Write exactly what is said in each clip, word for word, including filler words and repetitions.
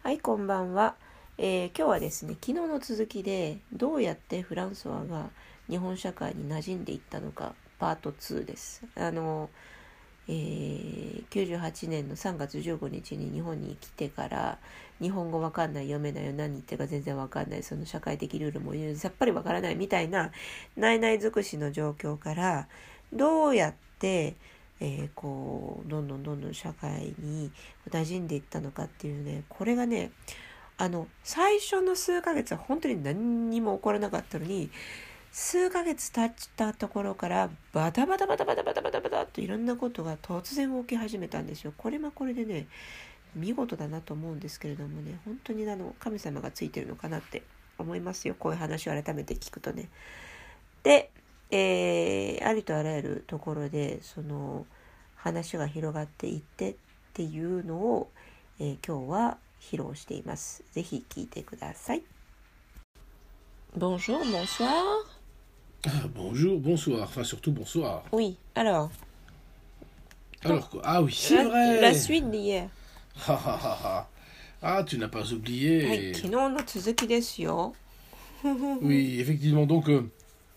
はい、こんばんは。えー今日はですね、昨日の続きでどうやってフランソワが日本社会に馴染んでいったのかパートツーです。あの、えーきゅうじゅうはちねんのさんがつじゅうごにちに日本に来てから日本語わかんない、読めないよ、何言ってるか全然わかんない、その社会的ルールもさっぱりわからないみたいなないない尽くしの状況からどうやってえー、こうどんどんどんどん社会に馴染んでいったのかっていうね、これがね、あの最初の数ヶ月は本当に何にも起こらなかったのに、数ヶ月経ったところからバタバタバタバタバタバタバタといろんなことが突然起き始めたんですよ。これもこれでね、見事だなと思うんですけれどもね、本当にあの神様がついてるのかなって思いますよ、こういう話を改めて聞くとね。で、えー、ありとあらゆるところでその話が広がっていってっていうのを、えー、今日は披露しています。ぜひ聞いてください。Bonjour, bonsoir. Bonjour, bonsoir, enfin surtout bonsoir. Oui, alors. Alors quoi? Ah oui, c'est la, vrai. La suite d'hier. Ah, tu n'as pas oublié. はい、昨日の続きですよ。 Oui, effectivement, donc... Euh,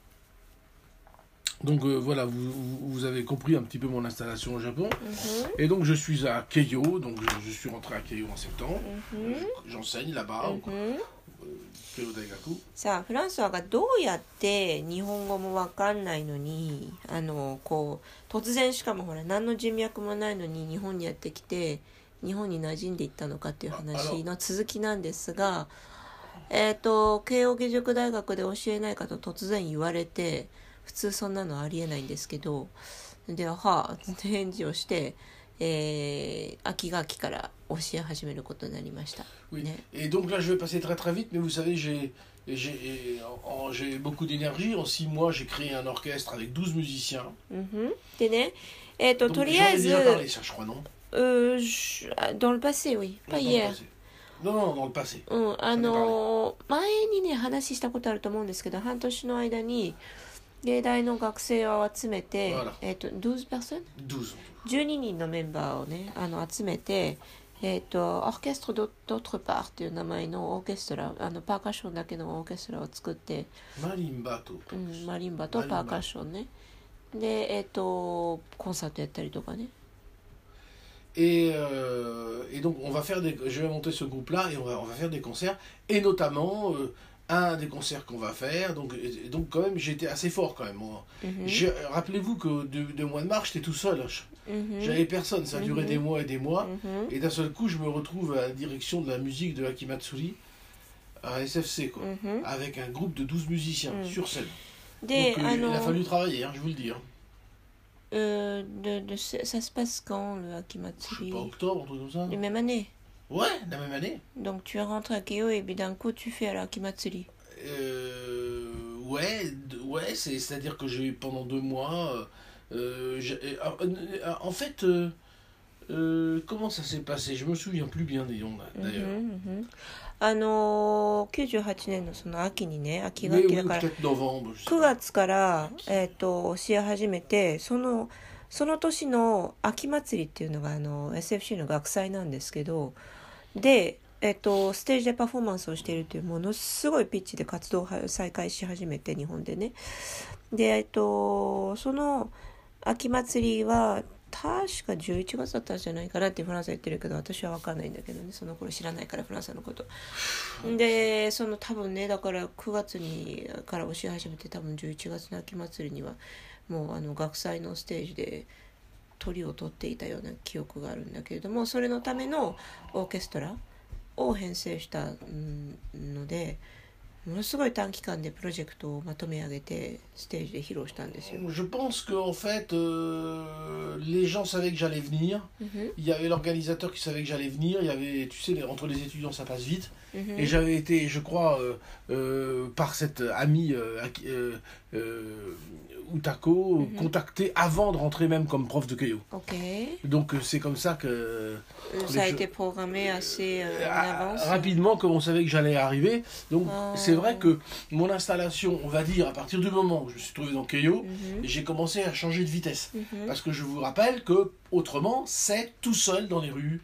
Donc euh, voilà, vous, vous avez compris un petit peu mon installation au Japon. Mm-hmm. Et donc je suis à Keio, donc je, je suis rentré à Keio en septembre. Mm-hmm. Je, j'enseigne là-bas, Mm-hmm. Keio Daigaku. さあ、フランスはがどうやって日本語もわかんないのに、あのこう突然、しかもほら何の人脈もないのに日本にやってきて日本に馴染んでいったのかっていう話の続きなんですが、えっと慶應義塾大学で教えないかと突然言われて、普通そんなのありえないんですけど、でははぁ返事をして、えー、秋学期から教え始めることになりました。 Oui. ね、 Et donc là je vais passer très très vite, mais vous savez j'ai j'ai en, j'ai beaucoup d'énergie. En six mois j'ai créé un orchestre avec douze musiciens. うんふんでね、えっ、ー、と Donc, とりあえず j'en ai déjà parlé, ça, je crois, non? Euh, je... dans le passé, oui. Pas dans hier. Non, non, dans le passé. うん、あのー、前にね話したことあると思うんですけど、半年の間に芸大の学生を集めて、 Voilà. えっ、ー、とじゅうにパーセント douze. じゅうににんのメンバーをね、あの集めて、えっ、ー、とオーケストラd'autre partっていう名前のオーケストラ、あのパーカッションだけのオーケストラを作って、 マリンバと、 うん、マリンバとパーカッションね。で、えっ、ー、とコンサートやったりとかね。 Et, euh, et donc on va faire des, je vais monter ce groupe-là et on va, on va faire des concerts, et notamment euh, un des concerts qu'on va faire. Donc, et donc quand même j'étais assez fort quand même. Moi. Mm-hmm. Je, rappelez-vous que de, de mois de mars j'étais tout seul. Mm-hmm. J'avais personne, ça a duré mm-hmm. des mois et des mois. Mm-hmm. Et d'un seul coup je me retrouve à la direction de la musique de Akimatsuri à S F C quoi, mm-hmm. avec un groupe de douze musiciens mm-hmm. sur scène. Des, donc euh, il a fallu travailler, hein, je vous le dis. Hein. Euh, de, de, ça se passe quand le Akimatsuri? Je sais pas, octobre, un truc comme ça. La même année? Ouais, la même année. Donc tu rentres à Keio et puis d'un coup tu fais à l'Akimatsuri? Euh, ouais, ouais, c'est, c'est-à-dire que j'ai pendant deux mois. Euh, j'ai, euh, en fait, euh, euh, comment ça s'est passé? Je me souviens plus bien des noms d'ailleurs. Mm-hmm, mm-hmm. あのー、きゅうじゅうはちねんのその秋にね、秋学期だからくがつから、えー、と教え始めて、そのその年の秋祭りっていうのがあの エスエフシー の学祭なんですけど、で、えー、とステージでパフォーマンスをしているというものすごいピッチで活動を再開し始めて、日本でね。で、えー、とその秋祭りは確かじゅういちがつだったんじゃないかなってフランスは言ってるけど、私は分かんないんだけどね、その頃知らないからフランスのことで、その多分ね、だからくがつにから教え始めて、多分じゅういちがつの秋祭りにはもうあの学祭のステージで鳥を取っていたような記憶があるんだけれども、それのためのオーケストラを編成したので、ものすごい短期間でプロジェクトをまとめ上げてステージで披露したんですよ。 Je pense que en fait, euh, les gens savaient que j'allais venir. Mm-hmm. Il y avait l'organisateur qui savait que j'allais venir. Il y avait, tu sais, entre les étudiants ça passe vite. Mm-hmm. Et j'avais été, je crois, euh, euh, par cette amie euh, euh, euh, Utako, mm-hmm. contacté avant de rentrer même comme prof de Keio. Okay. Donc c'est comme ça que ça a été programmé assez euh, en avance. Rapidement, comme on savait que j'allais arriver. Donc oh. c'est vrai que mon installation, on va dire, à partir du moment où je me suis trouvé dans Keio, mm-hmm. j'ai commencé à changer de vitesse. Mm-hmm. Parce que je vous rappelle que autrement, c'est tout seul dans les rues,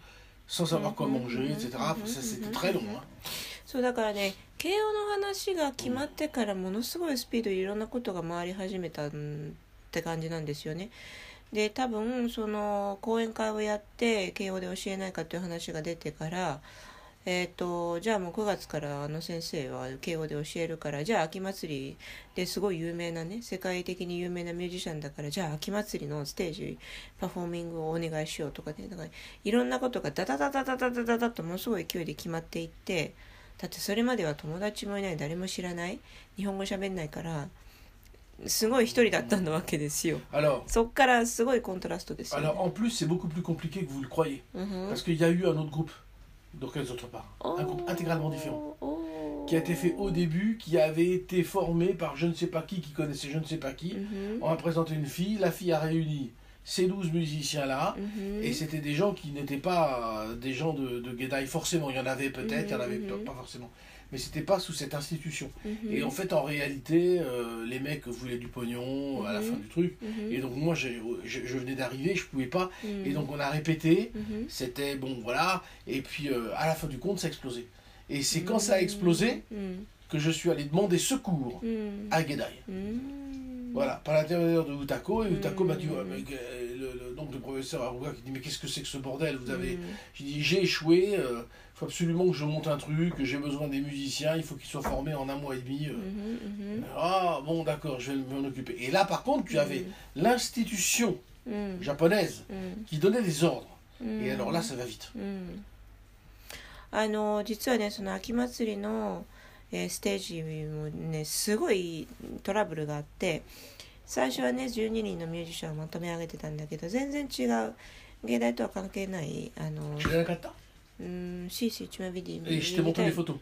sans savoir quoi manger, et cetera. Ça, c'était très long. Hein. そうだからね、慶応の話が決まってからものすごいスピードでいろんなことが回り始めたって感じなんですよね。で、多分その講演会をやって慶応で教えないかという話が出てから、えーと、じゃあもうくがつからあの先生は慶応で教えるから、じゃあ秋祭りですごい有名なね、世界的に有名なミュージシャンだから、じゃあ秋祭りのステージパフォーミングをお願いしようとかね、だからいろんなことがダダダダダダダダダとものすごい勢いで決まっていって、だってそれまでは友達もいない、誰も知らない、日本語喋んないからすごい一人だったんだわけですよ。そっからすごいコントラストですよね。 Alors en plus c'est beaucoup plus compliqué que vous le croyez, mm-hmm. parce qu'il y a eu un autre groupe d'orchestre d'autre part, oh, un groupe intégralement différent, oh. qui a été fait au début, qui avait été formé par je ne sais pas qui, qui connaissait je ne sais pas qui. Mm-hmm. On a présenté une fille, la fille a réuni ces douze musiciens-là, mm-hmm. et c'était des gens qui n'étaient pas des gens de, de Gedai, forcément, il y en avait peut-être, mm-hmm. il y en avait mm-hmm. pas forcément, mais c'était pas sous cette institution. Mm-hmm. Et en fait, en réalité, euh, les mecs voulaient du pognon mm-hmm. à la fin du truc, mm-hmm. et donc moi, j'ai, je, je venais d'arriver, je pouvais pas, mm-hmm. et donc on a répété, mm-hmm. c'était bon, voilà, et puis euh, à la fin du compte, ça a explosé. Et c'est mm-hmm. quand ça a explosé mm-hmm. que je suis allé demander secours mm-hmm. à Gedai. Mm-hmm. Voilà, par l'intermédiaire de Utako, et Utako mmh. m'a dit, ouais, mais, le, le, donc le professeur Aruga qui dit, mais qu'est-ce que c'est que ce bordel, vous avez... Mmh. J'ai dit, j'ai échoué, il euh, faut absolument que je monte un truc, que j'ai besoin des musiciens, il faut qu'ils soient formés en un mois et demi. Euh. Mmh. Ah, bon, d'accord, je vais m'en occuper. Et là, par contre, tu avais mmh. l'institution mmh. japonaise mmh. qui donnait des ordres. Mmh. Et alors là, ça va vite. Mmh. あの、実はね、その秋祭りのえー、ステージもねすごいトラブルがあって、最初はねじゅうににんのミュージシャンをまとめ上げてたんだけど、全然違う芸大とは関係ないあの知らなかった。 うん、シーシーtu m'as dit et je t'ai montré les photos.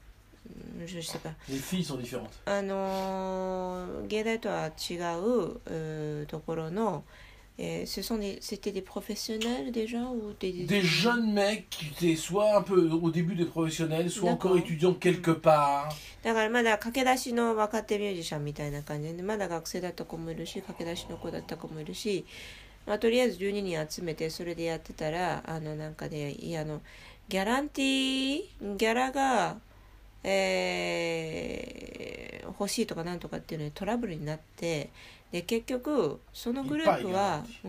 Je sais pas. Les filles sont différentes. あの芸大とは違う、うところのEt ce sont des, c'était des professionnels déjà ou des, des... des jeunes mecs qui étaient soit un peu au début des professionnels, soit encore étudiants quelque part. だからまだ駆け出しの若手ミュージシャンみたいな感じで、まだ学生だった子もいるし、駆け出しの子だった子もいるし、まあ、とりあえずじゅうににん集めてそれでやってたら、あのなんかね、いやあのギャランティーギャラが、えー、欲しいとかなんとかっていうのにトラブルになって。で結局そのグループは、うん、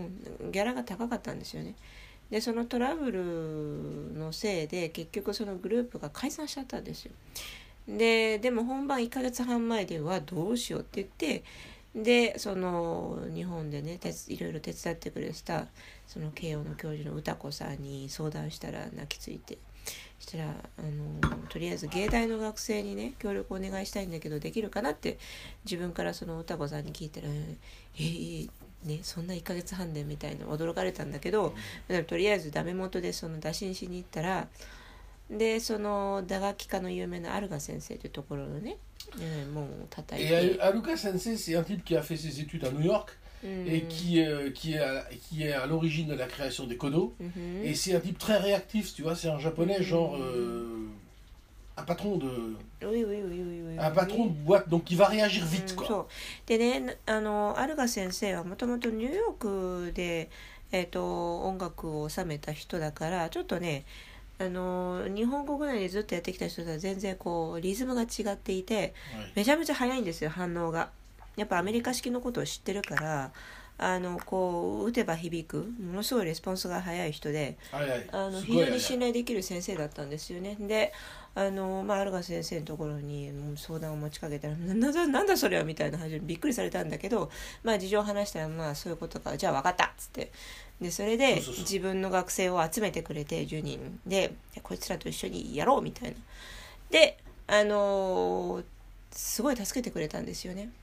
ギャラが高かったんですよね。でそのトラブルのせいで結局そのグループが解散しちゃったんですよ。ででも本番いっかげつはん前ではどうしようって言って、でその日本でねいろいろ手伝ってくれたその慶応の教授の歌子さんに相談したら泣きついて、したらあのとりあえず芸大の学生にね協力お願いしたいんだけどできるかなって自分からその歌子さんに聞いたら、えー、ねそんないっかげつはんでみたいな驚かれたんだけど、うん、とりあえずダメ元でその打診しに行ったら、でその打楽器家の有名なアルガ先生というところのね、えー、もう叩いて。 Et Aruga Sensei, c'est un type qui a fait ses études à New York. Et qui, euh, qui, est à, qui est à l'origine de la création des kodo. Mm-hmm. Et c'est un type très réactif, tu vois, c'est un japonais mm-hmm. genre euh, un patron de oui, oui, oui, oui, oui, un patron de boîte, donc qui va réagir vite, quoi. そうでね、あのアルガ先生はもともとニューヨークで、えー、と音楽を収めた人だから、ちょっとねあの日本国内でずっとやってきた人とは全然こうリズムが違っていて、はい、めちゃめちゃ速いんですよ、反応が。やっぱアメリカ式のことを知ってるから、あのこう打てば響くものすごいレスポンスが早い人で、 はいはい、 あの非常に信頼できる先生だったんですよね。であの、まあ、アルガ先生のところに相談を持ちかけたら、なだなんだそれはみたいな話でびっくりされたんだけど、まあ、事情を話したら、まあそういうことか、じゃあ分かったっつって、でそれで自分の学生を集めてくれてじゅうにんでこいつらと一緒にやろうみたいなで、あのすごい助けてくれたんですよね。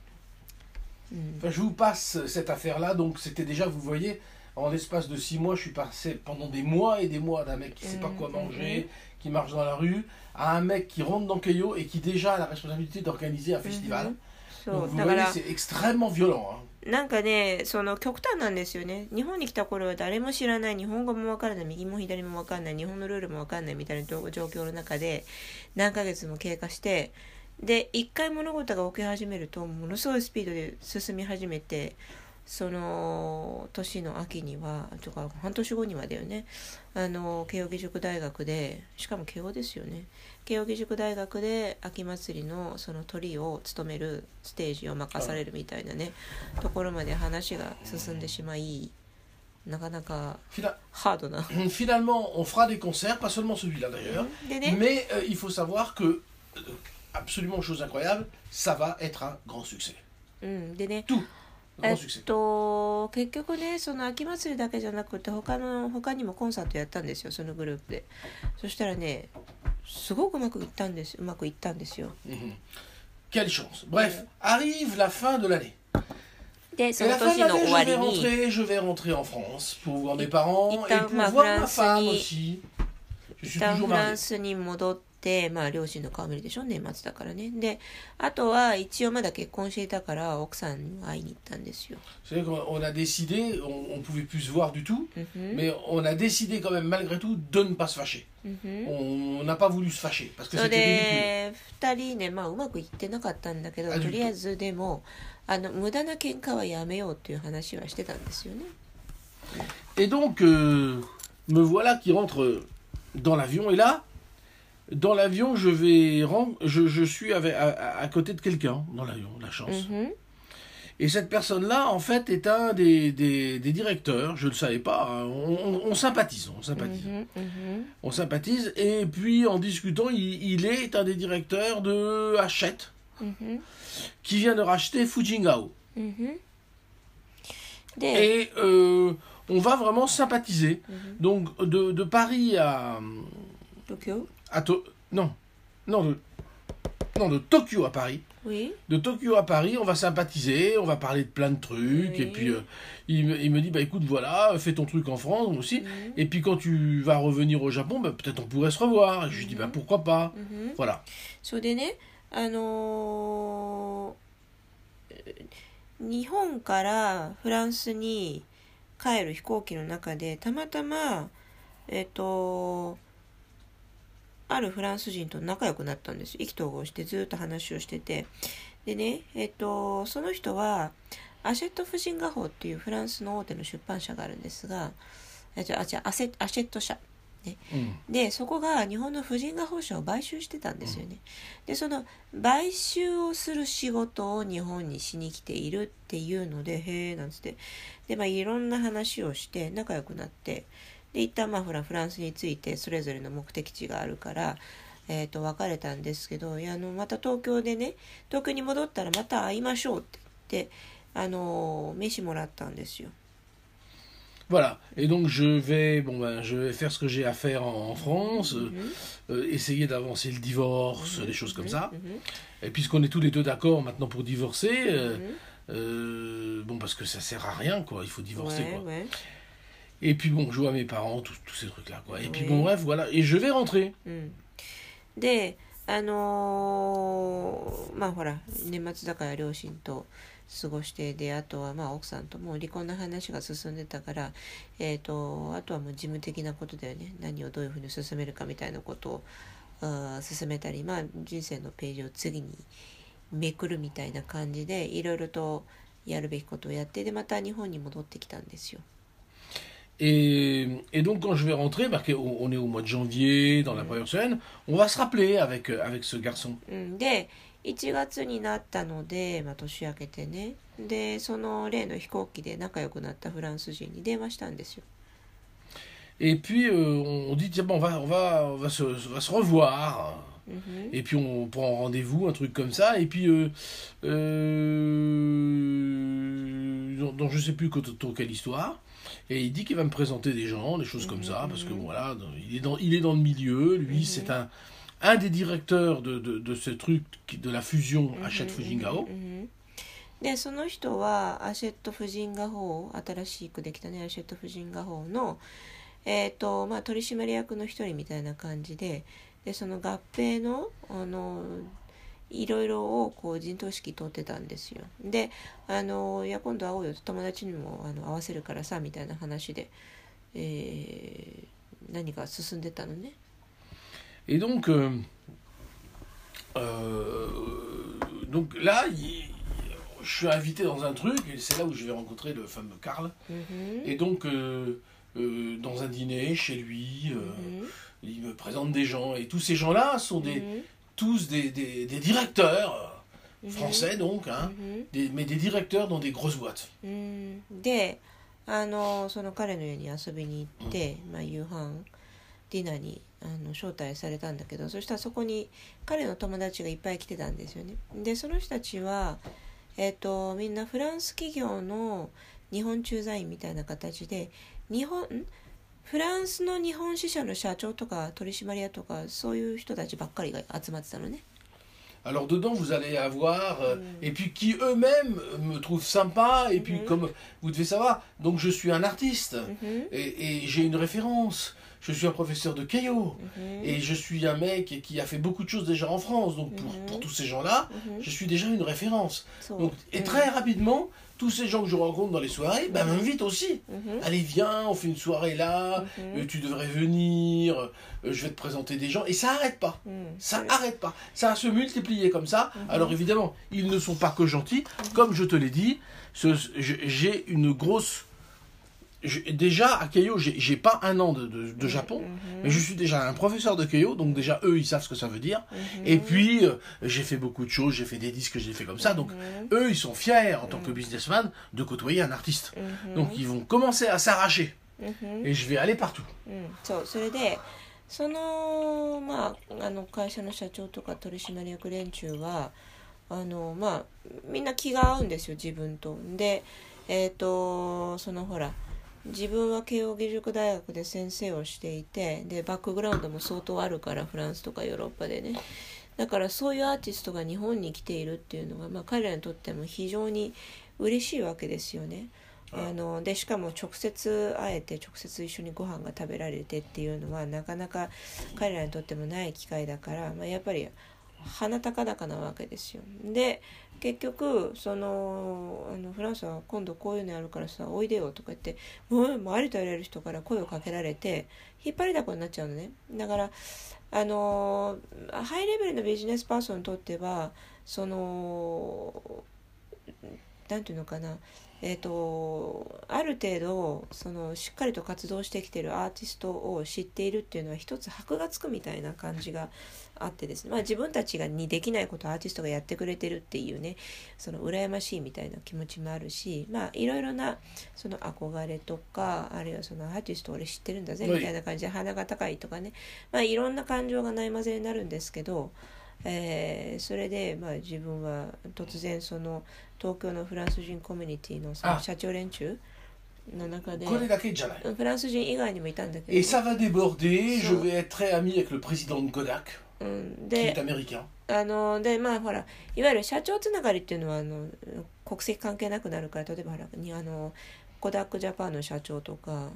Enfin, je vous passe cette affaire-là, donc c'était déjà, vous voyez, en l'espace de six mois, je suis passé pendant des mois et des mois d'un mec qui ne sait pas quoi manger, qui marche dans la rue, à un mec qui rentre dans Keio et qui déjà a la responsabilité d'organiser un festival. Donc vous voyez, c'est extrêmement violent. Hein. なんかね、その極端なんですよね。日本に来た頃は誰も知らない、日本語もわからない、右も左もわからない、日本のルールもわからないみたいな状況の中で何ヶ月も経過して、で一回物事が起き始めるとものすごいスピードで進み始めて、 その年の秋にはとか半年後にはだよね、あの慶應義塾大学で、しかも慶應ですよね、慶應義塾大学で秋祭りのそのトリを務めるステージを任されるみたいなね、ところまで話が進んでしまい、なかなかハードな。 Finalement, on fera des concerts, pas seulement celui-là d'ailleurs, mais euh, il faut savoir que, absolument chose incroyable, ça va être un grand succès. うん、でね、 Tout. えっと、結局ね、その秋祭りだけじゃなくて他の他にもコンサートやったんですよ、そのグループで。そしたらね、すごくうまくいったんですうまくいったんですよ。 Quelle chance. Bref, arrive la fin de l'année. で、その年の終わりに、 je vais rentrer en France pour voir mes parents et pour voir ma femme aussi. Je suis toujours marié. フランスに戻って。でまあ、両親の顔見るでしょ、年末だからね。であとは一応まだ結婚していたから奥さんに会いに行ったんですよ。 C'est vrai qu'on a décidé, on ne pouvait plus se voir du tout, mm-hmm. mais on a décidé quand même malgré tout de ne pas se fâcher. Mm-hmm. On n'a pas voulu se fâcher parce que c'était ridicule. ふたりね、まあうまくいってなかったんだけど、とりあえずでもあの無駄な喧嘩はやめようっていう話はしてたんですよね。 Et donc euh, me voilà qui rentre dans l'avion et là.Dans l'avion, je vais rendre, je, je suis avec, à, à côté de quelqu'un dans l'avion, la chance. Mm-hmm. Et cette personne-là, en fait, est un des, des, des directeurs. Je ne le savais pas. Hein. On, on, on sympathise, on sympathise, mm-hmm. Mm-hmm. on sympathise. Et puis, en discutant, il, il est un des directeurs de Hachette, mm-hmm. qui vient de racheter Fujingao. Mm-hmm. Et euh, on va vraiment sympathiser. Mm-hmm. Donc, de, de Paris à Tokyo.À to- non, non de, non, de Tokyo à Paris. Oui. De Tokyo à Paris, on va sympathiser, on va parler de plein de trucs. Oui. Et puis, euh, il, me, il me dit, bah écoute, voilà, fais ton truc en France aussi. Mm-hmm. Et puis, quand tu vas revenir au Japon, bah, peut-être on pourrait se revoir. Et je lui dis, bah pourquoi pas. Mm-hmm. Voilà. それでね、あのー、日本からフランスに帰る飛行機の中で、たまたま、えっと、あるフランス人と仲良くなったんです。意気投合してずっと話をしてて、でね、えっとその人はアシェット・フジンガホーっていうフランスの大手の出版社があるんですが、あじゃあじゃあアセアシェット社、ねうん、でそこが日本のフジンガホー社を買収してたんですよね。でその買収をする仕事を日本にしに来ているっていうので、へえなんつって、でまあいろんな話をして仲良くなって。で一旦まあフランスについてそれぞれの目的地があるから、えー、と別れたんですけど、いやあのまた東京でね、東京に戻ったらまた会いましょうって言ってあの飯もらったんですよ。 Voilà, et donc je vais, bon ben, je vais faire ce que j'ai à faire en, en France, mm-hmm. euh, essayer d'avancer le divorce, mm-hmm. des choses comme ça. Mm-hmm. Et puisqu'on est tous les deux d'accord maintenant pour divorcer, euh, mm-hmm. euh, bon parce que ça sert à rien quoi, il faut divorcer ouais, quoi. Ouais.Et puis bon, je vois mes parents, tous ces trucs-là, quoi. Et puis bon, bref, voilà. Et je vais rentrer. うん、で、あのー、まあほら、年末だから両親と過ごして、で、あとはまあ奥さんともう離婚の話が進んでたから、えっと、あとはもう事務的なことだよね。何をどういうふうに進めるかみたいなことをあ進めたり、まあ人生のページを次にめくるみたいな感じで、いろいろとやるべきことをやって、で、また日本に戻ってきたんですよ。 Et, et donc quand je vais rentrer, bah, on est au mois de janvier, dans la première semaine, on va se rappeler avec, avec ce garçon. で、いちがつになったので、まあ、年明けてね。で、その例の飛行機で仲良くなったフランス人に電話したんですよ。 Et puis euh, on dit, tiens, bon, on va, on va, on va, se, on va se revoir. Mm-hmm. Et puis on prend rendez-vous, un truc comme ça. Et puis, euh, euh, donc, donc je sais plus autour quelle histoire.Et il dit qu'il va me présenter des gens, des choses comme ça, parce que voilà, il est dans, il est dans le milieu, lui, c'est un, un des directeurs de, de, de ce truc, de la fusion Hachette Fujingao. で、その人はアシェット・フジンガホー、新しくできたね、アシェット・フジンガホーの、えっと、まあ、取締役の一人みたいな感じで、で、その合併の、あの、いろいろをこう陣頭指揮取ってたんですよ。で、あのいや今度会おうよと友達にもあの会わせるからさみたいな話で、えー、何か進んでたのね。 Et donc, euh, euh, donc là, il, je suis invité dans un truc, et c'est là où je vais rencontrer le fameux Karl. Mm-hmm. Et donc, euh, euh, dans un dîner, chez lui, euh, mm-hmm. il me présente des gens. Et tous ces gens-là sont des, mm-hmm. tous des, des, des directeurs, mm-hmm. français donc, hein, mm-hmm. des, mais des directeurs dans des grosses boîtes. Mm-hmm. で、あの、その彼の家に遊びに行って、まあ、夕飯、ディナーにあの招待されたんだけど、そしたらそこに彼の友達がいっぱい来てたんですよね。でその人たちは、えー、とみんなフランス企業の日本駐在員みたいな形で、日本フランスの日本支社の社長とか取締役とかそういう人たちばっかりが集まってたのね。 Alors dedans vous allez avoir euh, mm. et puis qui eux-mêmes me trouvent sympa et puis mm-hmm. comme vous devez savoir, donc je suis un artiste mm-hmm. et, et j'ai une référence. Je suis un professeur de Keio mm-hmm. et je suis un mec qui a fait beaucoup de choses déjà en France. Donc pour, mm-hmm. pour tous ces gens-là, mm-hmm. je suis déjà une référence. So, donc, et mm-hmm. très rapidement, tous ces gens que je rencontre dans les soirées mm-hmm. bah, m'invitent aussi. Mm-hmm. Allez, viens, on fait une soirée là, mm-hmm. euh, tu devrais venir, euh, je vais te présenter des gens. Et ça n'arrête pas. Mm-hmm. Ça n'arrête pas. Ça va se multiplier comme ça. Mm-hmm. Alors évidemment, ils ne sont pas que gentils. Mm-hmm. Comme je te l'ai dit, ce, j'ai une grosse... Je, déjà à Keio, j'ai, j'ai pas un an de, de, de Japon, mm-hmm. mais je suis déjà un professeur de Keio, donc déjà eux ils savent ce que ça veut dire. Mm-hmm. Et puis euh, j'ai fait beaucoup de choses, j'ai fait des disques, j'ai fait comme ça, donc mm-hmm. eux ils sont fiers en tant que businessman de côtoyer un artiste. Mm-hmm. Donc ils vont commencer à s'arracher, mm-hmm. et je vais aller partout. Mm-hmm. So, それでそのまああの会社の社長とか取締役連中はあのまあみんな気が合うんですよ自分と。でえっ、ー、とそのほら。自分は慶應義塾大学で先生をしていて、でバックグラウンドも相当あるから、フランスとかヨーロッパでね。だからそういうアーティストが日本に来ているっていうのが、まあ、彼らにとっても非常に嬉しいわけですよね。あのでしかも直接会えて直接一緒にご飯が食べられてっていうのはなかなか彼らにとってもない機会だから、まあ、やっぱり鼻高々なわけですよ。で結局そのあのフランスは今度こういうのやるからさおいでよとか言ってもう、もうありとあらゆる人から声をかけられて引っ張りだこになっちゃうのね。だからあのハイレベルのビジネスパーソンにとってはそのなんていうのかな、えーと、ある程度そのしっかりと活動してきているアーティストを知っているっていうのは一つ箔がつくみたいな感じがあってですね、まあ、自分たちがにできないことをアーティストがやってくれてるっていうね、その羨ましいみたいな気持ちもあるし、まあいろいろなその憧れとか、あるいはそのアーティスト俺知ってるんだぜみたいな感じで鼻が高いとかね、まあいろんな感情がないまぜになるんですけど、えー、それで、まあ、自分は突然その東京のフランス人コミュニティのその社長連中の中で、 これだけじゃない。 フランス人以外にもいたんだけど。 Et ça va déborder. Je vais être très ami avec le président de Kodak, うん、 qui で est américain. あのでまあほらいわゆる社長つながりっていうのはあの国籍関係なくなるから、例えばほらにあのコダックジャパンの社長とか。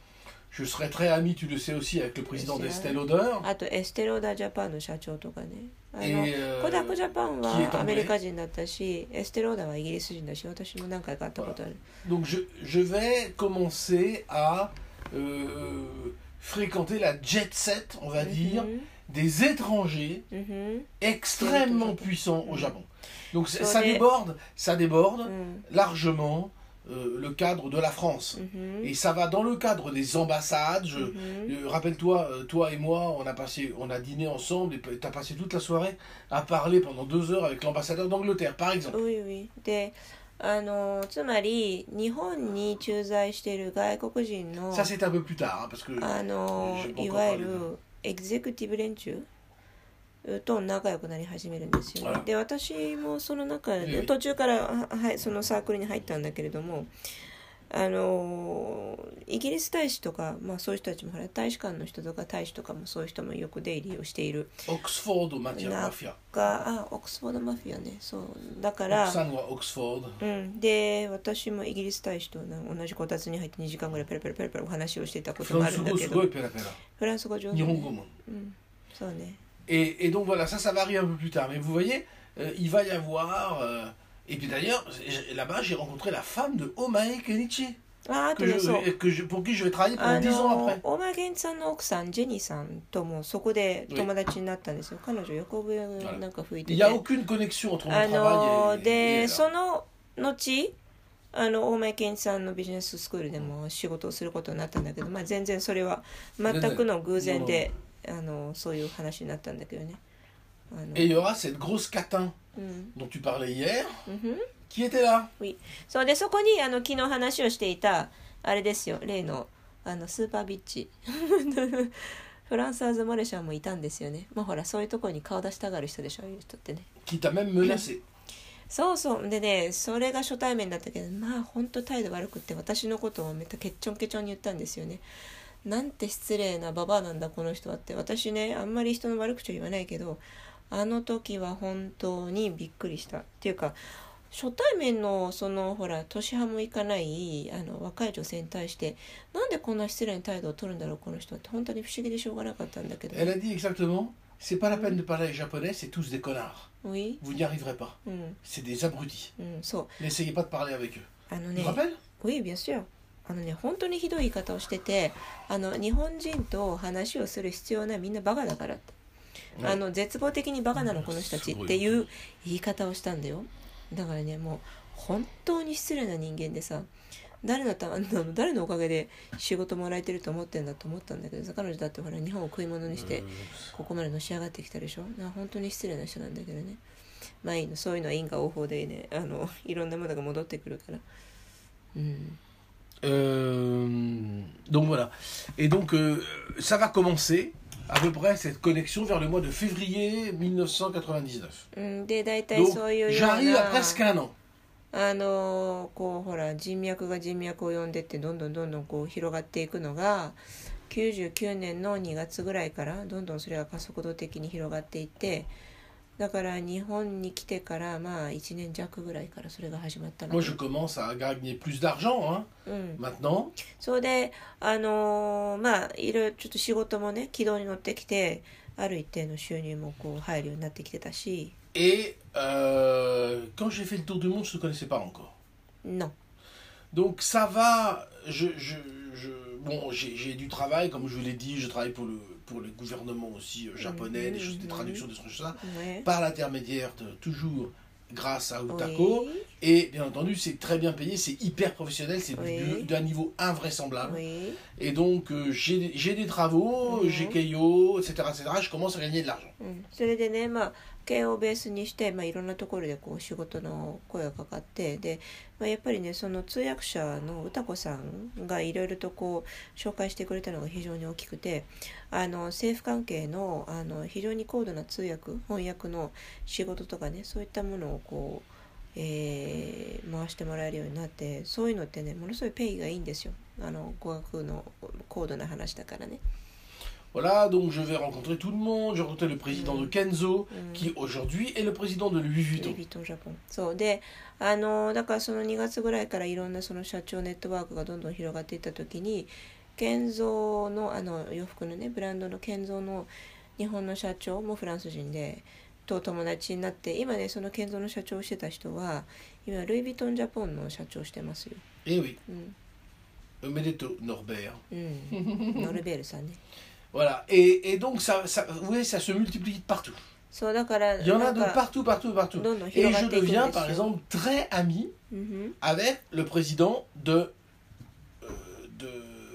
Je serai très ami, tu le sais aussi, avec le président d'Estée Lauder. あとエステローダージャパンの社長とかね。あの、 えー、 コダックジャパンはアメリカ人だったし、エステローダーはイギリス人だし、私も何回か会ったことある。 Donc je, je vais commencer à euh, fréquenter la jet set, on va dire, mm-hmm. des étrangers mm-hmm. extrêmement puissants au Japon. Donc ça, ça déborde, ça déborde mm. largement. Euh, le cadre de la France. Mm-hmm. Et ça va dans le cadre des ambassades. Je, mm-hmm. euh, rappelle-toi, euh, toi et moi, on a, passé, on a dîné ensemble et tu as passé toute la soirée à parler pendant deux heures avec l'ambassadeur d'Angleterre, par exemple. Oui, oui. で、あの、つまり、日本に駐在している外国人の Ça, c'est un peu plus tard, hein, parce que あの、いわゆるエグゼクティブ連中と仲良くなり始めるんですよね。で、私もその中で途中からはそのサークルに入ったんだけれども、あのイギリス大使とか、まあ、そういう人たちもほら大使館の人とか大使とかもそういう人もよく出入りをしている。 オックスフォードマフィア。 あ、オックスフォードマフィアね。そうだから。 奥さんはオックスフォード。 うん。で、私もイギリス大使と同じこたつに入ってにじかんぐらいペラペラペラペラお話をしていたこともあるんだけど。フランス語すごいペラペラ。フランス語上手、ね。日本語も。うん。そうね。 Et, et donc voilà, ça, ça va arriver un peu plus tard. Mais vous voyez, euh, il va y avoir... Euh, et puis d'ailleurs, là-bas, j'ai rencontré la femme de Omae Kenichi. Ah, que je, que je, pour qui je vais travailler pendant dix ans après. Omae Kenichi さんの奥さん、ジェニーさんともそこで友達になったんですよ。彼女、横笛なんか吹いてて。 Il n'y a aucune connexion entre mon travail et... で、その後あの大前健一さんのビジネススクールでも仕事をすることになったんだけど、まあ、全然それは全くの偶然で、あのそういう話になったんだけどね。 Et il y aura cette grosse catin dont tu parlais hier, qui était là. Oui. そうで、そこにあの昨日話をしていたあれですよ、例のあのスーパービッチフランサーズ・モレシャンもいたんですよね。まあほら、そういうところに顔出したがる人でしょ、いう人ってね。 Qui t'a même menacé. そうそうでね、それが初対面だったけど、まあ本当態度悪くって私のことをめっちゃケッチョンケチョンに言ったんですよね。なんて失礼なババアなんだこの人はって。私ね、あんまり人の悪口は言わないけど、あの時は本当にびっくりしたっていうか、初対面のそのほら年派もいかないあの若い女性に対してなんでこんな失礼な態度を取るんだろうこの人って、本当に不思議でしょうがなかったんだけど。 Elle a dit exactement, c'est pas la peine de parler japonais, c'est tous des connards. Oui. Vous n'y arriverez pas. Mm. C'est des abrutis. Mm, so. N'essayez pas de parler avec eux. あのね、 tu te rappelles? Oui, bien sûr. あのね、本当にひどい言い方をしてて、あの日本人と話をする必要ない、みんなバカだからって、あの絶望的にバカなのこの人たちっていう言い方をしたんだよ。だからね、もう本当に失礼な人間でさ、誰のた誰のおかげで仕事もらえてると思ってんだと思ったんだけど、彼女だってほら日本を食い物にしてここまでのし上がってきたでしょ。な本当に失礼な人なんだけどね。まあいいの、そういうのは因果応報でね、あのいろんなものが戻ってくるから。うん。 Euh, donc voilà. Et donc euh, ça va commencer à peu près cette connexion vers le mois de février mille neuf cent quatre-vingt-dix-neuf. Mm, donc j'arrive à presque un an. あのこうほら人脈が人脈を呼んでってどんどんどんどんこう広がっていくのがきゅうじゅうきゅうねんのにがつぐらいからどんどんそれが加速度的に広がっていって、だから日本に来てからまあいちねん弱ぐらいからそれが始まったの。 Moi je commence à gagner plus d'argent, hein, うん、maintenant. そうで、あのー、まあいろいろちょっと仕事もね軌道に乗ってきて、ある一定の収入もこう入るようになってきてたし。 Et euh, quand j'ai fait le tour du monde, je ne te connaissais pas encore. Non. Donc ça va, je, je, je, bon, j'ai, j'ai du travail, comme je vous l'ai dit, je travaille pour le, pour le gouvernement aussi euh, japonais, mmh, des choses, des traductions, des trucs comme ça, ouais. Par l'intermédiaire de, toujours grâce à Utako. Oui. Et bien entendu, c'est très bien payé, c'est hyper professionnel, c'est oui. d'un niveau invraisemblable. Oui. Et donc euh, j'ai, j'ai des travaux, mmh. j'ai Keio, et cetera, et cetera, je commence à gagner de l'argent. Mmh. 系をベースにして、まあ、いろんなところでこう仕事の声がかかって、で、まあ、やっぱりねその通訳者の歌子さんがいろいろとこう紹介してくれたのが非常に大きくて、あの政府関係 の, あの非常に高度な通訳翻訳の仕事とかね、そういったものをこう、えー、回してもらえるようになって、そういうのってねものすごいペイがいいんですよ。あの語学の高度な話だからね。 Voilà, donc je vais rencontrer tout le monde. Je rencontrais le président de Kenzo, qui aujourd'hui est le président de Louis Vuitton. Louis Vuitton Japon. そうで、あのだからそのにがつぐらいからいろんなその社長ネットワークがどんどん広がっていった時に、ケンゾーのあの洋服のねブランドのケンゾーの日本の社長もフランス人でと友達になって、今ねそのケンゾーの社長をしてた人は今ルイ・ヴィトンジャポンの社長をしてますよ。 Eh oui. うん。Omedeto Norbert. うん。ノルベールさんね。 Voilà, et, et donc ça, ça, vous voyez, ça se multiplie partout. So, il y en a de partout, partout, partout. Et je deviens, par exemple, très ami mm-hmm. avec le président de, euh, de,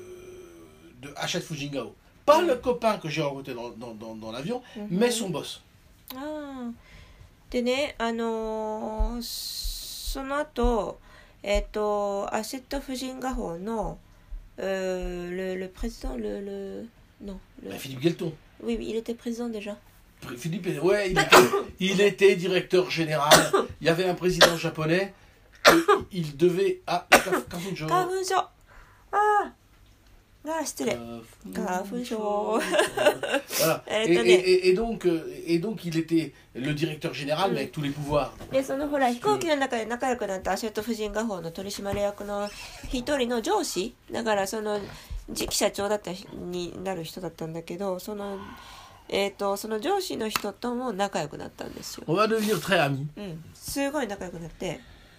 de Hachette Fujingao. Pas mm-hmm. le copain que j'ai rencontré dans, dans, dans, dans l'avion, mm-hmm. mais son boss. Ah. でね、あのー、その後、えっと、アシェット・フジンガホの、euh, le, le président, le... le Non. Le... Bah, Philippe Guelton. Oui, il était président déjà. Philippe, ouais, il était, il était directeur général. Il y avait un président japonais. Il devait. Ah, Kafunjo. Kafunjo. Ah, ah, c'était Kafunjo. Voilà. Et, et, et, et, donc, et donc, il était le directeur général, mais avec tous les pouvoirs. Etそのほら飛行機の中で仲良くなったアシェット夫人画報の取締役の一人の上司だから、その次期社長だったになる人だったんだけど、そのえっとその上司の人とも仲良くなったんですよ。 On va devenir très amis. うん、すごい仲良くなって。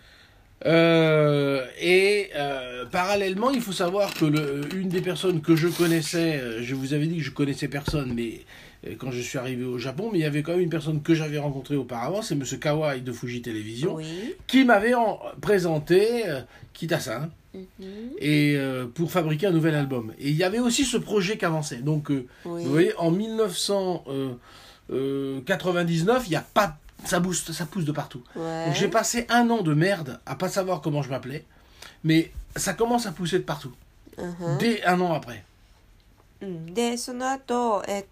Euh, et euh, parallèlement, il faut savoir que le, une des personnes que je connaissais, je vous avais dit que je connaissais personne, mais quand je suis arrivé au Japon, mais il y avait quand même une personne que j'avais rencontrée auparavant, c'est Monsieur Kawai de Fuji Télévision, oui. qui m'avait en, présenté euh, Kitasan, mm-hmm. et euh, pour fabriquer un nouvel album. Et il y avait aussi ce projet qui avançait. Donc, euh, oui. vous voyez, en mille neuf cent quatre-vingt-dix-neuf, il y a pas, ça, booste, ça pousse de partout. Ouais. Donc j'ai passé un an de merde à pas savoir comment je m'appelais, mais ça commence à pousser de partout. Uh-huh. Dès un an après. でその後えっ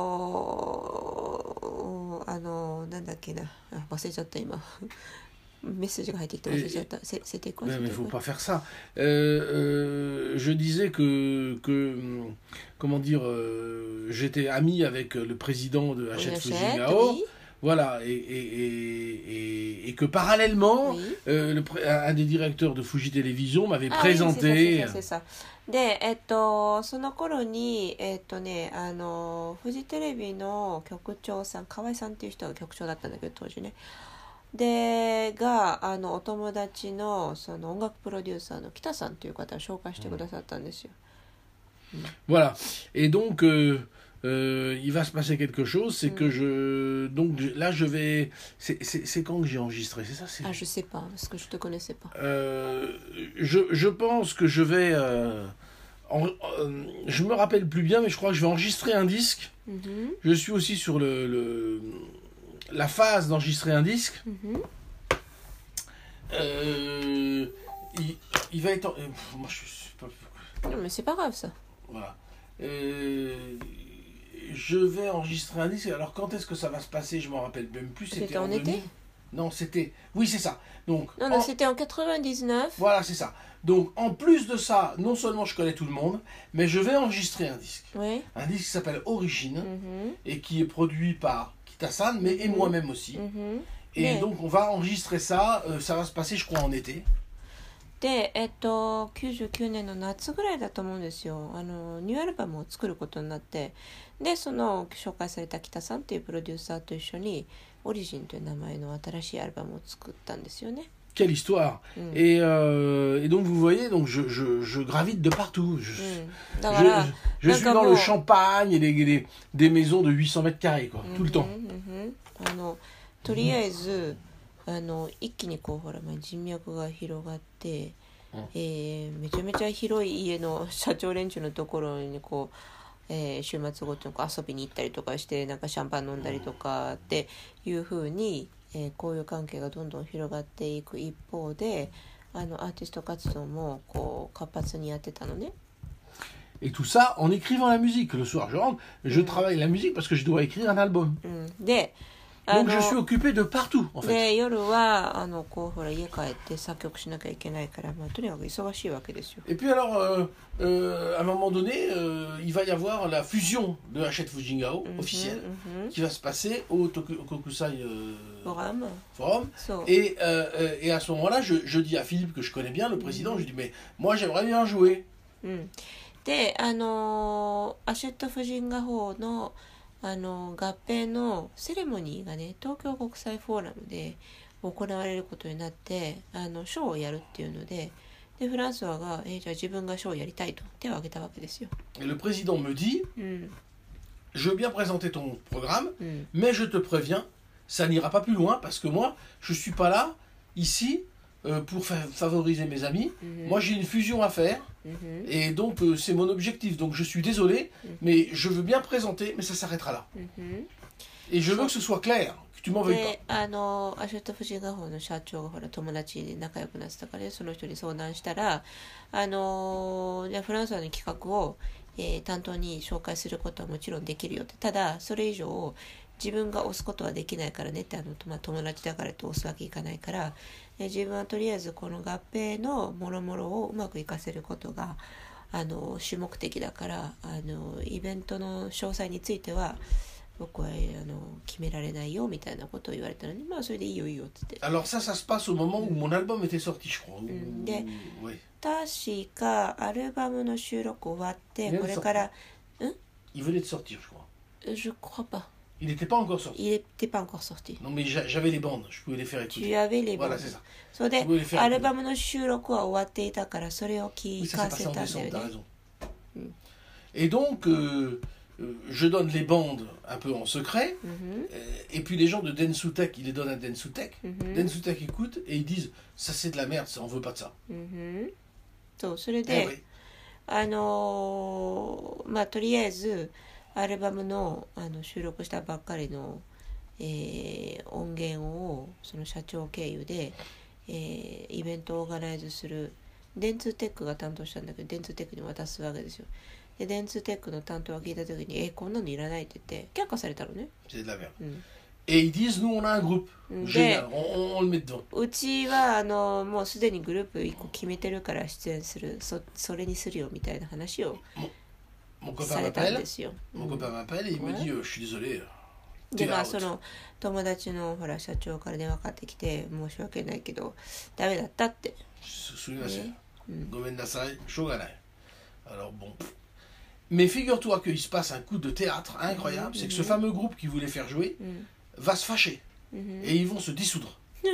とあのなんだっけな忘れちゃった今メッセージが入ってきて忘れちゃった。C'était quoi? Mais il ne faut pas faire ça. Euh, euh, je disais que, que comment dire, euh, j'étais ami avec le président de Hachette Fujingao. Oui. Voilà, et, et, et, et que parallèlement, oui. euh, le, un des directeurs de Fuji Télévision m'avait ah, présenté. Oui, c'est ça, c'est ça, c'est ça. で、えっと、その頃に、えっとね、あの、フジテレビの局長さん、河合さんっていう人が局長だったんだけど、当時ね。で、が、あの、お友達の、その音楽プロデューサーの北さんという方を紹介してくださったんですよ。 うん、voilà. Et donc, euh, euh, il va se passer quelque chose, c'est mm. que je... Donc là, je vais... C'est, c'est, c'est quand que j'ai enregistré, c'est ça c'est... Ah, je sais pas, parce que je te connaissais pas. Euh, je, je pense que je vais... Euh, en, euh, je me rappelle plus bien, mais je crois que je vais enregistrer un disque. Mm-hmm. Je suis aussi sur le, le, la phase d'enregistrer un disque. Mm-hmm. Euh, il, il va être... Euh, moi, je suis pas... Non, mais c'est pas grave, ça. Voilà. Euh, je vais enregistrer un disque. Alors quand est-ce que ça va se passer? Je m'en rappelle même plus. C'était, c'était en, en été? Non, c'était... Oui, c'est ça. Donc, non, non, en... c'était en quatre-vingt-dix-neuf. Voilà, c'est ça. Donc, en plus de ça, non seulement je connais tout le monde, mais je vais enregistrer un disque. Oui. Un disque qui s'appelle Origine, mm-hmm. et qui est produit par Kitasan, mais mm-hmm. et moi-même aussi. Mm-hmm. Et mais... donc, on va enregistrer ça. Euh, ça va se passer, je crois, en été. で、えっと、きゅうじゅうきゅうねんの夏ぐらいだと思うんですよ。あのニューアルバムを作ることになって、でその紹介された北さんっていうプロデューサーと一緒にオリジンという名前の新しいアルバムを作ったんですよね。 Quelle histoire! Mm. Et, euh, et donc vous voyez, donc je, je, je gravite de partout. Je, mm. je, je, je suis dans le Champagne et les, les, des maisons de huit cents mètres carrés, quoi, mm-hmm, tout le temps. Mm-hmm. あのとりあえず、あの一気にこうほら、まあ、人脈が広がって、うんえー、めちゃめちゃ広い家の社長連中のところにこう、えー、週末ごとにこう遊びに行ったりとかしてなんかシャンパン飲んだりとかっていう風に、えー、交友関係がどんどん広がっていく一方であのアーティスト活動もこう活発にやってたのね。 Et tout ça en écrivant la musique. Le soir, je rentre, je mm. travaille la musique parce que je dois écrire un album. Mm. で Donc je suis occupé de partout, en fait. で夜はあのこうほら家帰って作曲しなきゃいけないから、まあ、とにかく忙しいわけですよ。 Et puis alors, euh, euh, à un moment donné, euh, il va y avoir la fusion de Hachette Fujingao mm-hmm, officielle mm-hmm. qui va se passer au Tokusai euh, Forum. Forum. So. Et, euh, et à ce moment-là, je, je dis à Philippe que je connais bien, le président, mm-hmm. je dis mais moi j'aimerais bien jouer. Mm. で、あのアシェット・フジンガホのあの合併のセレモニーがね東京国際フォーラムで行われることになってあのショーをやるっていうので、でフランソワが、えー、じゃあ自分がショーをやりたいと手を挙げたわけですよ。 Et le président me dit, mm. je veux bien présenter ton programme, mm. mais je te préviens, ça n'ira pas plus loin parce que moi, je suis pas là ici euh, pour fa- favoriser mes amis. Mm-hmm. Moi, j'ai une fusion à faire. Mm-hmm. Et donc euh, c'est mon objectif, donc je suis désolé, mm-hmm. mais je veux bien présenter, mais ça s'arrêtera là. Mm-hmm. Et je veux que ce soit clair, que tu m'en veuilles pas. あのアシェット・フジンガホの社長がほら友達で仲良くなってたから、その人に相談したら、あのじゃあフランスの企画を、えー、担当に紹介することはもちろんできるよって、ただそれ以上自分が押すことはできないからねって、あの、まあ、友達だからって押すわけいかないから、自分はとりあえずこの合併のもろもろをうまくいかせることがあの主目的だから、あのイベントの詳細については僕はあの決められないよみたいなことを言われたのに、まあそれでいいよいいよって言って。 Alors ça, ça se passe au moment où mon album était sorti, je crois. で、確かアルバムの収録終わってこれから、ん Il venait de sortir, je crois. Je crois pas. Il n'était pas encore sorti. Il n'était pas encore sorti. Non, mais j'avais les bandes, je pouvais les faire écouter. Tu avais les bandes. Voilà, c'est ça. それで、アルバムの収録は終わっていたから、それを聞かせたんだよね。 Et donc, euh, euh, je donne les bandes un peu en secret, Mhm. et puis les gens de Densutech, ils les donnent à Densutech. Mhm. Densutech écoute et ils disent ça c'est de la merde, ça on veut pas de ça. うん。そう、それ Eh で、 oui. あのーまあとりあえずアルバムの、あの収録したばっかりの、えー音源をその社長経由で、えーイベントをオーガナイズする電通テックが担当したんだけど、電通テックに渡すわけですよ。で電通テックの担当が聞いた時に「えこんなのいらない」って言って却下されたのね。 C'est de la merde. うん Et ils disent nous on a un groupe. Mm. Génial, on, on- on le met devant. うちはあのもうすでにグループいっこ決めてるから出演する、 そ, それにするよみたいな話を Mon copain されたん m'appelle, ですよ。 mon copain m'appelle et il me Ouais. dit euh, je suis désolé. で T'es まあ out. その友達のほら社長から電話かかってきて申し訳ないけどダメだったって。 Souvenez-vous. Mm. Gomen Nasai, Shoganai. Alors bon. Mais figure-toi qu'il se passe un coup de théâtre incroyable, Mhm, c'est que ce mhm. fameux groupe qui voulait faire jouer うん va se fâcher うん et ils vont se dissoudre.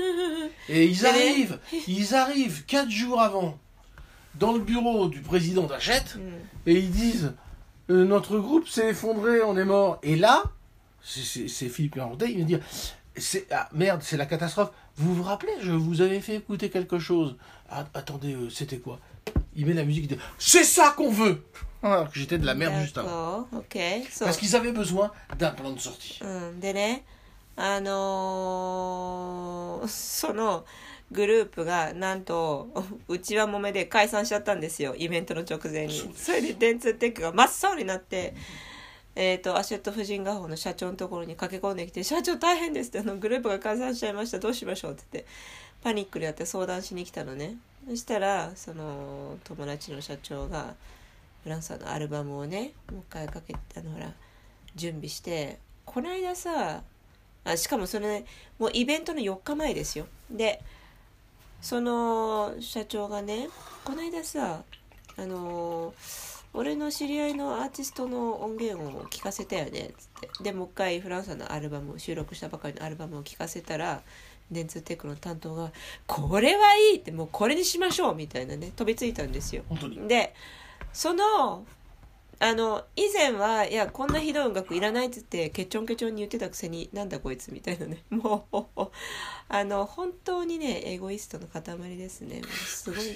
Et ils Mais- arrivent, ils arrivent quatre jours avant dans le bureau du président d'Hachette うん et ils disent euh, notre groupe s'est effondré, on est mort. Et là, c'est- c'est c'est Philippe Landais, il me dit c'est ah, merde, c'est la catastrophe. Vous vous rappelez, je vous avais fait écouter quelque chose. Ah, attendez, euh, c'était quoi? Il met la musique, il dit c'est ça qu'on veut. Alors que j'étais de la merde juste avant. オッケー、そう Parce qu'ils avaient besoin d'un plan de sortie. うんでね、あのーそのグループがなんとうちわもめで解散しちゃったんですよ、イベントの直前に。 そうですそれで電通テックが真っ青になって、えー、とアシェット婦人画報の社長のところに駆け込んできて「社長大変です」って、あのグループが解散しちゃいました、どうしましょうって言ってパニックになって相談しに来たのね。そしたらその友達の社長がフランスさんのアルバムをねもう一回かけて、あのほら準備して、この間さあしかもそれ、ね、もうイベントのよっかまえですよ。でその社長がねこの間さあの俺の知り合いのアーティストの音源を聞かせたよねっつって、でもう一回フランスさんのアルバムを収録したばかりのアルバムを聞かせたら、電通テックの担当がこれはいいって、もうこれにしましょうみたいなね飛びついたんですよ。 本当に。 でそのあの以前はいやこんなひどい音楽いらないっつってケチョンケチョンに言ってたくせになんだこいつみたいなね、もうあの本当にねエゴイストの塊ですね。もうすごいね。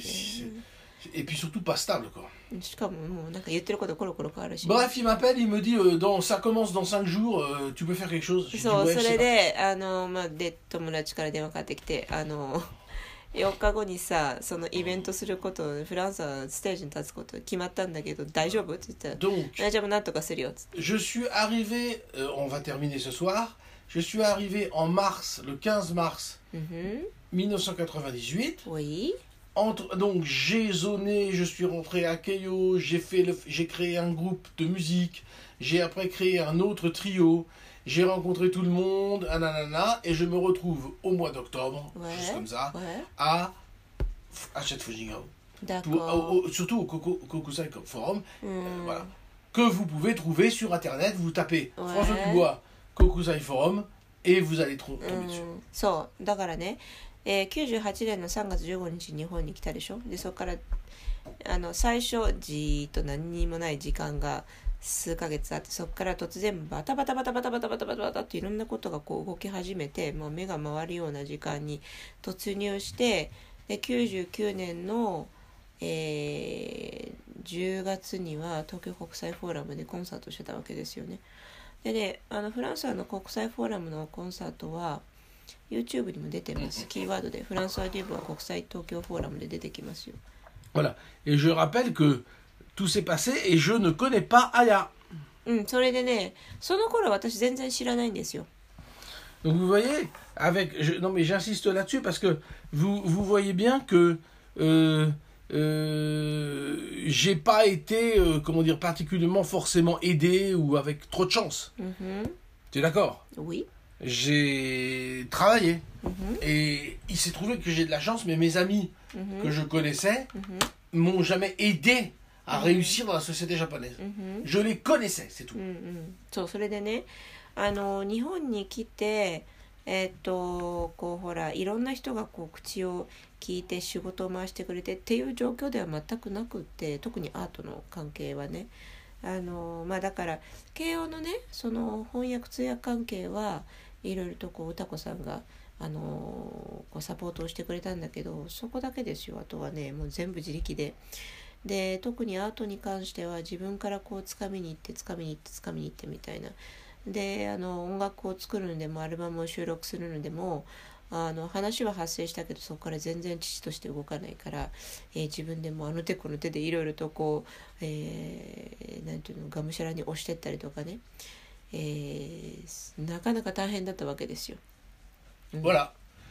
Et puis surtout pas stable quoi. しかももうなんか言ってることコロコロ変わるし、 Bref, il m'appelle, il me dit euh, dans, ça commence dans cinq jours, euh, tu peux faire quelque chose. Je dis, そう ouais, そ je sais れ pas. であの、まあ、で友達から電話かかってきて、あのよっかごにさそのイベントすることフランスはステージに立つこと決まったんだけど大丈夫って言ったら Donc, 大丈夫なんとかするよっつって。 je suis arrivé, euh, on va terminer ce soir, je suis arrivé en mars, le quinze mars うんふん mille neuf cent quatre-vingt-dix-huit. おい Entre, donc j'ai zoné, je suis rentré à Keio, j'ai fait le, j'ai créé un groupe de musique, j'ai après créé un autre trio, j'ai rencontré tout le monde, ananana, et je me retrouve au mois d'octobre, Ouais. juste comme ça, おい à Hachette Fujigao. だか Pour- au- au- surtout au Coco- Kokusai Forum, う euh, ん voilà, que vous pouvez trouver sur internet, vous tapez Ouais. François Dubois, Kokusai Forum, et vous allez tro- う tomber dessus. んそうだからね、えー、きゅうじゅうはちねんのさんがつじゅうごにち日本に来たでしょ。でそこからあの最初じーっと何にもない時間が数ヶ月あって、そこから突然バタバタバタバタバタバタバタバタっていろんなことがこう動き始めて、もう目が回るような時間に突入して、できゅうじゅうきゅうねんの、えー、じゅうがつには東京国際フォーラムでコンサートしてたわけですよね。でね、あのフランスの国際フォーラムのコンサートは YouTube にも出てます。キーワードでフランスワデューブは国際東京フォーラムで出てきますよ。 Voilà, et je rappelle que tout s'est passé et je ne connais pas Aya. うん、それでね、その頃私全然知らないんですよ。 Donc vous voyez, avec, je, non mais j'insiste là-dessus parce que vous, vous voyez bien que euh, euh, j'ai pas été, euh, comment dire, particulièrement forcément aidé ou avec trop de chance. うんふん、 Tu es d'accord? oui. J'ai travaillé うんふん、 et il s'est trouvé que j'ai de la chance, mais mes amis うんふん、 que je connaissais うんふん、 m'ont jamais aidé à Mhm. réussir dans la société japonaise. うんふん。 Je les connaissais, c'est tout. うんうん、そうそれでね、あの日本に来てえーっとこうほらいろんな人がこう口を聞いて仕事を回してくれてっていう状況では全くなくって、特にアートの関係はね、 あのまあだから慶応のねその翻訳通訳関係はいろいろとこう歌子さんがあのこうサポートをしてくれたんだけど、そこだけですよ。あとはねもう全部自力で。で特にアートに関しては自分からこう掴みに行って掴みに行って掴みに行ってみたいな。であの音楽を作るのでもアルバムを収録するのでもあの話は発生したけどそこから全然父として動かないから、えー、自分でもあの手この手でいろいろとこう、えー、なんていうのがむしゃらに押してったりとかね、えー、なかなか大変だったわけですよ。 うん、voilà.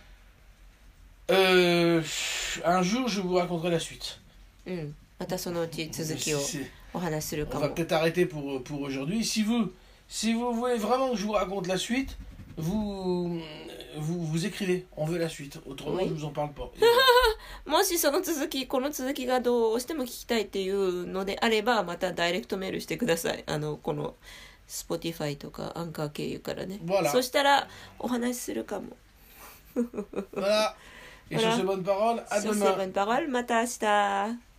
Euh, un jour je vous raconterai la suite. うん、またそのうち続きをお話しするかも。 On va peut-être arrêter pour pour aujourd'hui. Si vous si vous voulez vraiment que je vous raconte la suite, vous vous vous écrivez. On veut la suite. Autrement, oui. je vous en parle pas. もしその続きこの続きがどうしても聞きたいっていうのであればまたダイレクトメールしてください。あのこの Spotify とかアンカー経由からね。 Voilà. そしたらお話しするかも。 Voilà. Et sur ces bonnes paroles, à demain. Sur ces bonnes paroles, また明日。